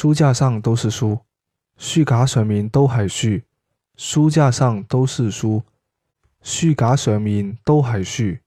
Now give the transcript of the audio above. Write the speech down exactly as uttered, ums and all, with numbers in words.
书架上都是书，書架上面都係書，書架上都是書，書架上面都係書。